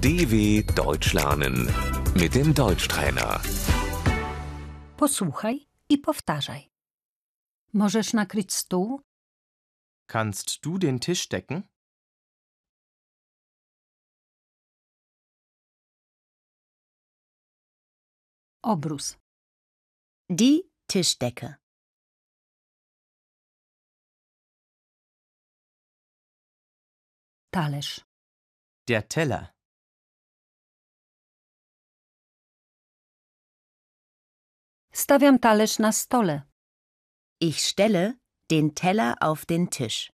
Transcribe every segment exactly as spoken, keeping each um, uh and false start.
D W Deutsch lernen mit dem Deutschtrainer. Posłuchaj i powtarzaj. Możesz nakryć stół? Kannst du den Tisch decken? Obrus. Die Tischdecke. Talerz. Der Teller. Stawiam talerz na stole. Ich stelle den Teller auf den Tisch.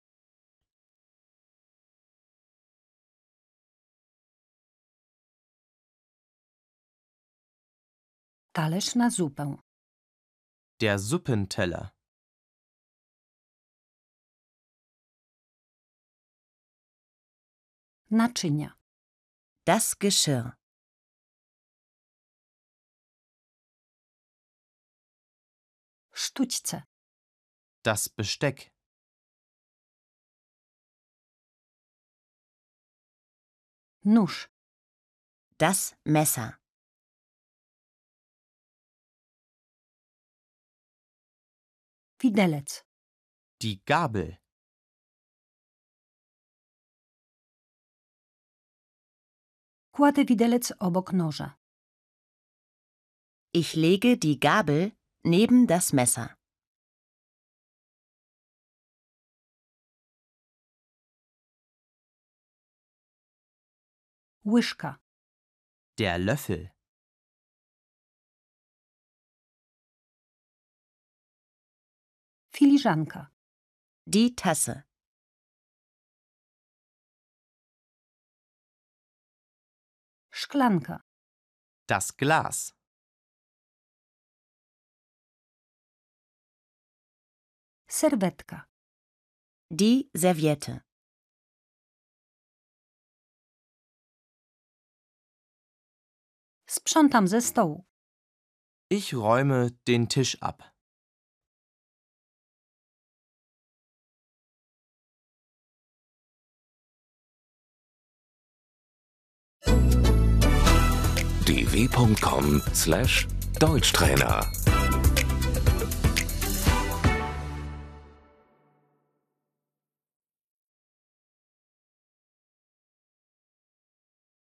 Talerz na zupę. Der Suppenteller. Naczynia. Das Geschirr. Sztućce. Das Besteck. Nóż. Das Messer. Widelec. Die Gabel. Kładę widelec obok noża. Ich lege die Gabel neben das Messer. Łyżka. Der Löffel. Filiżanka. Die Tasse. Szklanka. Das Glas. Serwetka. Die Serviette. Sprzątam ze stołu. Ich räume den Tisch ab. d w punkt com slash Deutschtrainer